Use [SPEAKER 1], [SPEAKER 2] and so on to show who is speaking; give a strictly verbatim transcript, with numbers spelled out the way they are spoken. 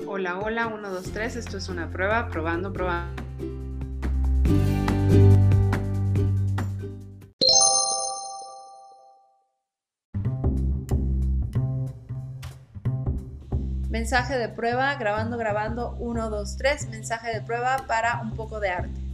[SPEAKER 1] Hola, hola, uno, dos, tres, esto es una prueba, probando, probando.
[SPEAKER 2] Mensaje de prueba, grabando, grabando, uno, dos, tres, mensaje de prueba para un poco de arte.